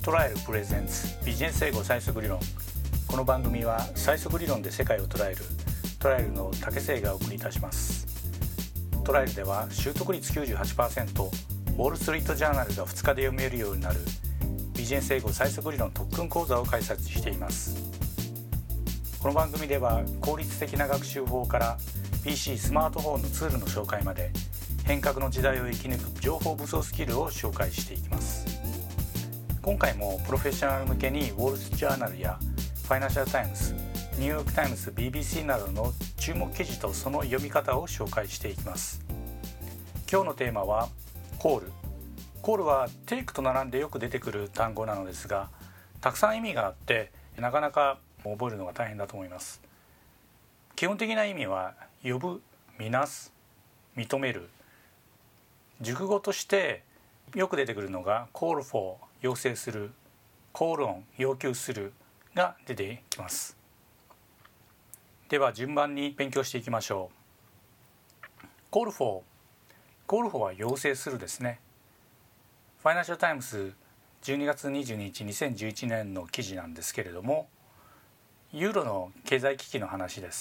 トライアルプレゼンツビジネス英語最速理論。この番組は最速理論で世界を捉えるトライアルの竹瀬がお送りいたします。トライアルでは習得率 98%、 ウォールストリートジャーナルが2日で読めるようになるビジネス英語最速理論特訓講座を開催しています。この番組では効率的な学習法から PC、スマートフォンのツールの紹介まで変革の時代を生き抜く情報武装スキルを紹介していきます。今回もプロフェッショナル向けにウォール・ジャーナルやファイナンシャル・タイムズ、ニューヨーク・タイムズ、BBC などの注目記事とその読み方を紹介していきます。今日のテーマはコール。コールはテイクと並んでよく出てくる単語なのですが、たくさん意味があってなかなか覚えるのが大変だと思います。基本的な意味は呼ぶ、みなす、認める。熟語としてよく出てくるのが call for 要請する、call on 要求するが出てきます。では順番に勉強していきましょう。call for は要請するですね。ファイナンシャルタイムズ12月22日2011年の記事なんですけれども、ユーロの経済危機の話です。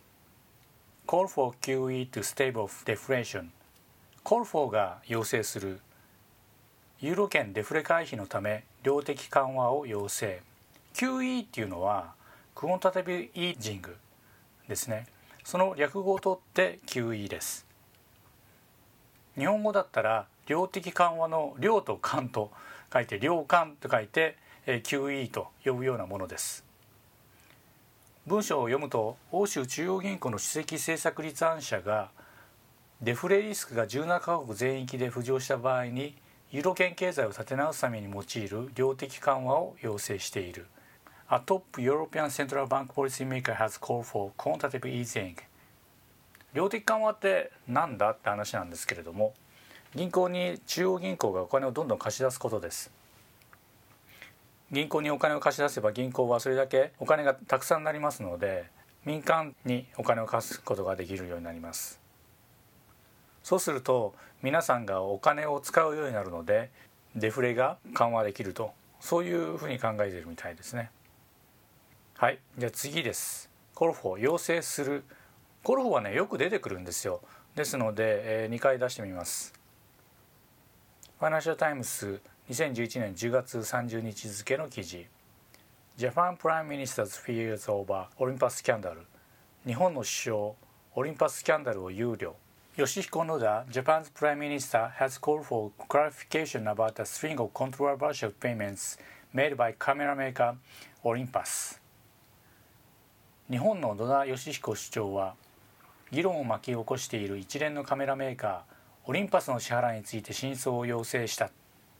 Call for QE to stave off deflation。 Call for が要請する、ユーロ圏デフレ回避のため量的緩和を要請。 QE っていうのはクオンタティブイージングですね。その略語を取って QE です。日本語だったら量的緩和の量と緩と書いて量緩と書いて QE と呼ぶようなものです。文章を読むと、欧州中央銀行の首席政策立案者がデフレリスクが17カ国全域で浮上した場合にユーロ圏経済を立て直すために用いる量的緩和を要請している。 A top European Central Bank policymaker has called for quantitative easing。 量的緩和ってなんだって話なんですけれども、銀行に中央銀行がお金をどんどん貸し出すことです。銀行にお金を貸し出せば銀行はそれだけお金がたくさんなりますので、民間にお金を貸すことができるようになります。そうすると皆さんがお金を使うようになるのでデフレが緩和できると、そういうふうに考えているみたいですね。はい、じゃあ次です。コルフォー、要請する。コルフォーはね、よく出てくるんですよ。ですので、2回出してみます。ファイナンシャルタイムズ2011年10月30日付の記事。 Japan Prime Minister's fears over Olympus scandal。 日本の首相オリンパススキャンダルを憂慮。Yoshihiko Noda, Japan's Prime Minister, has called for clarification about a string of controversial payments made by camera maker Olympus。 日本の野田佳彦首長は議論を巻き起こしている一連のカメラメーカーオリンパスの支払いについて真相を要請した。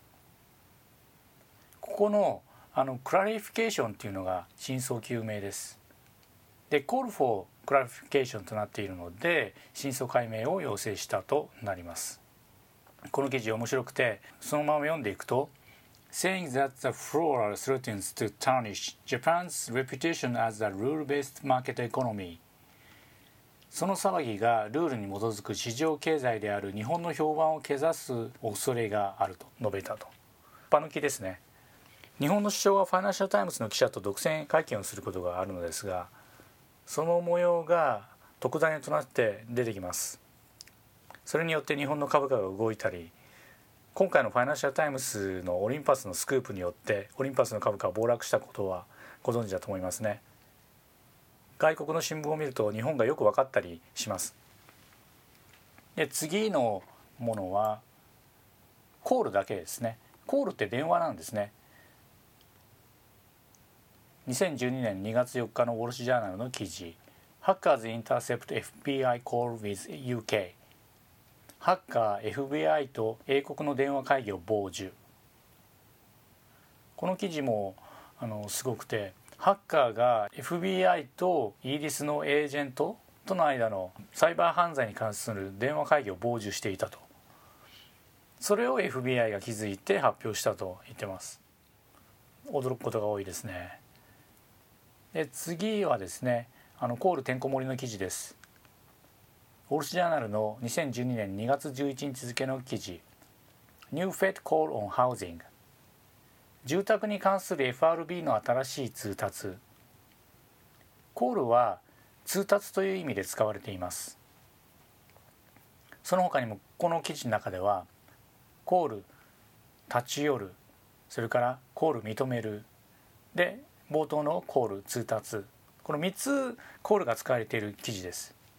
ここのクラリフィケーションというのが真相究明です。で、call for clarificationとなっているので真相解明を要請したとなります。この記事面白くて、そのまま読んでいくと Saying that the furor threatens to tarnish Japan's reputation as a rule-based market economy。 その騒ぎがルールに基づく市場経済である日本の評判を汚す恐れがあると述べたと。一般抜きですね。日本の首相はファイナンシャルタイムズの記者と独占会見をすることがあるのですが、その模様が特ダネとなって出てきます。それによって日本の株価が動いたり、今回のファイナンシャルタイムズのオリンパスのスクープによってオリンパスの株価が暴落したことはご存知だと思いますね。外国の新聞を見ると日本がよく分かったりします。で、次のものはコールだけですね。コールって電話なんですね。2012年2月4日のウォール・ジャーナルの記事。 Hackers intercept FBI call with UK。 ハッカー FBI と英国の電話会議を傍受。この記事もすごくて、ハッカーが FBI とイギリスのエージェントとの間のサイバー犯罪に関する電話会議を傍受していたと。それを FBI が気づいて発表したと言ってます。驚くことが多いですね。で、次はですね、コールてんこ盛りの記事です。ウォール・ジャーナルの2012年2月11日付の記事。New Fed Call on Housing。 住宅に関する FRB の新しい通達。コールは通達という意味で使われています。その他にもこの記事の中ではコール、立ち寄る、それからコール認めるで冒頭のコール通達、この3つコールが使われている記事です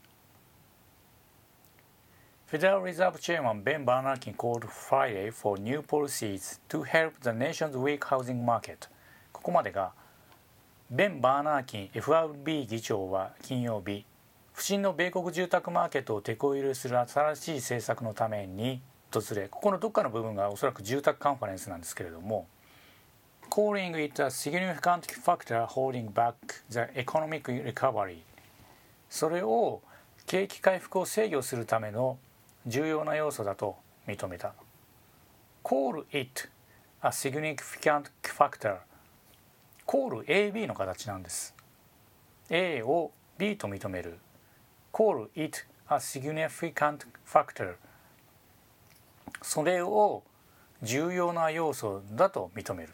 。Federal Reserve Chairman Ben Bernanke called Friday for new policies to help the nation's weak housing market。 ここまでがベン・バーナーキン FRB 議長は金曜日、不振の米国住宅マーケットを手こ入れする新しい政策のために訪れ、ここのどっかの部分がおそらく住宅カンファレンスなんですけれども、calling it a significant factor holding back the economic recovery、 それを景気回復を制御するための重要な要素だと認めた。 Call it a significant factor、 Call AB の形なんです。 A を B と認める。 Call it a significant factor、 それを重要な要素だと認める。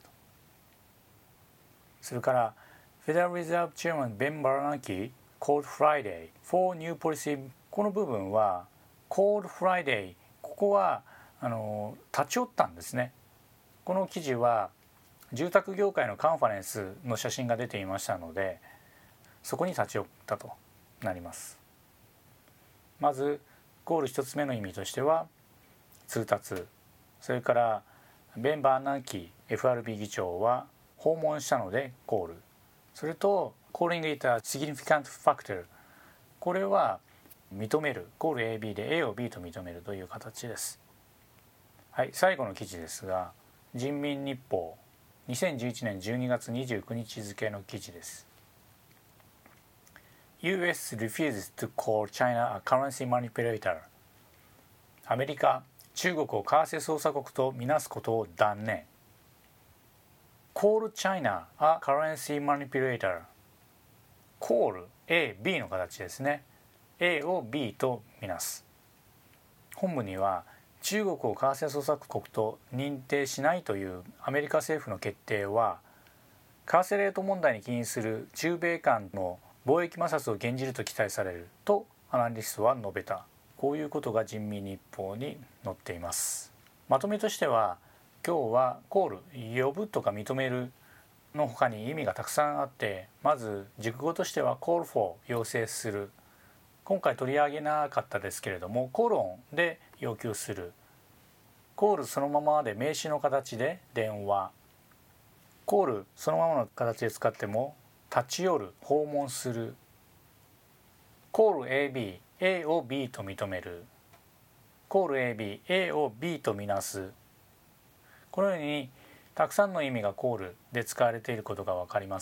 それから Federal Reserve Chairman Ben Bernanke called Friday for new policy、 この部分は called Friday、 ここは立ち寄ったんですね。この記事は住宅業界のカンファレンスの写真が出ていましたので、そこに立ち寄ったとなります。まずコール1つ目の意味としては通達、それからベン・バーナンキ FRB 議長は訪問したのでコール、それと calling it a significant factor、 これは認める、コール AB で A を B と認めるという形です。はい、最後の記事ですが、人民日報2011年12月29日付の記事です。 US refuses to call China a currency manipulator。 アメリカ、中国を為替操作国とみなすことを断念。 Call China a currency manipulator。 Call A、B の形ですね。 A を B とみなす。本文には中国を為替操作国と認定しないというアメリカ政府の決定は為替レート問題に起因する中米間の貿易摩擦を減じると期待されるとアナリストは述べた。こういうことが人民日報に載っています。まとめとしては、今日はコール、呼ぶとか認めるの他に意味がたくさんあって、まず熟語としては call for 要請する、今回取り上げなかったですけれどもコロンで要求する、コールそのままで名詞の形で電話、コールそのままの形で使っても立ち寄る、訪問する、コール AB、 A を B と認める、コール AB、 A を B とみなす、このようにたくさんの意味がコールで使われていることが分かります。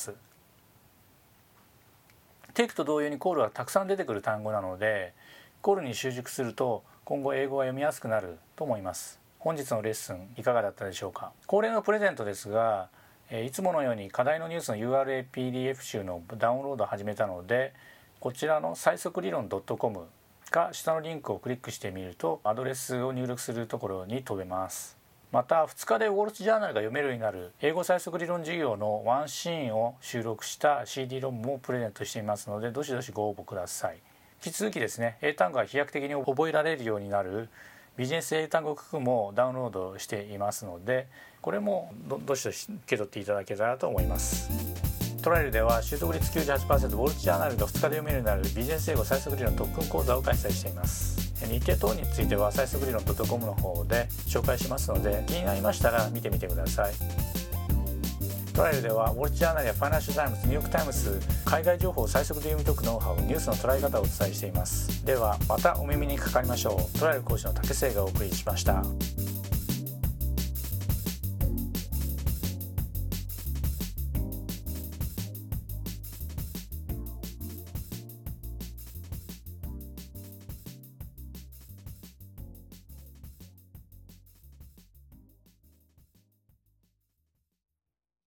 テイクと同様にコールはたくさん出てくる単語なので、コールに習熟すると今後英語が読みやすくなると思います。本日のレッスンいかがだったでしょうか。恒例のプレゼントですが、いつものように課題のニュースの URL PDF 集のダウンロードを始めたので、こちらの最速理論 .com か下のリンクをクリックしてみるとアドレスを入力するところに飛べます。また2日でウォール・ジャーナルが読めるようになる英語最速理論授業のワンシーンを収録した CD ロムもプレゼントしていますので、どしどしご応募ください。引き続きですね、英単語が飛躍的に覚えられるようになるビジネス英単語九九もダウンロードしていますので、これもどしどし受け取っていただけたらと思います。トライルでは習得率 98%、 ウォール・ジャーナルが2日で読めるようになるビジネス英語最速理論特訓講座を開催しています。日程等については最速理論 .com の方で紹介しますので、気になりましたら見てみてください。トライルではウォール・ジャーナルやファイナンシャル・タイムズ、ニューヨーク・タイムズ、海外情報を最速で読み解くノウハウ、ニュースの捉え方をお伝えしています。ではまたお耳にかかりましょう。トライル講師の竹末がお送りしました。